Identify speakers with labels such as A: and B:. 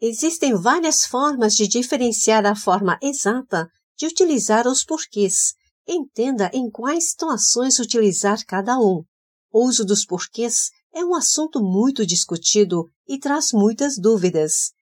A: Existem várias formas de diferenciar a forma exata de utilizar os porquês. Entenda em quais situações utilizar cada um. O uso dos porquês é um assunto muito discutido e traz muitas dúvidas.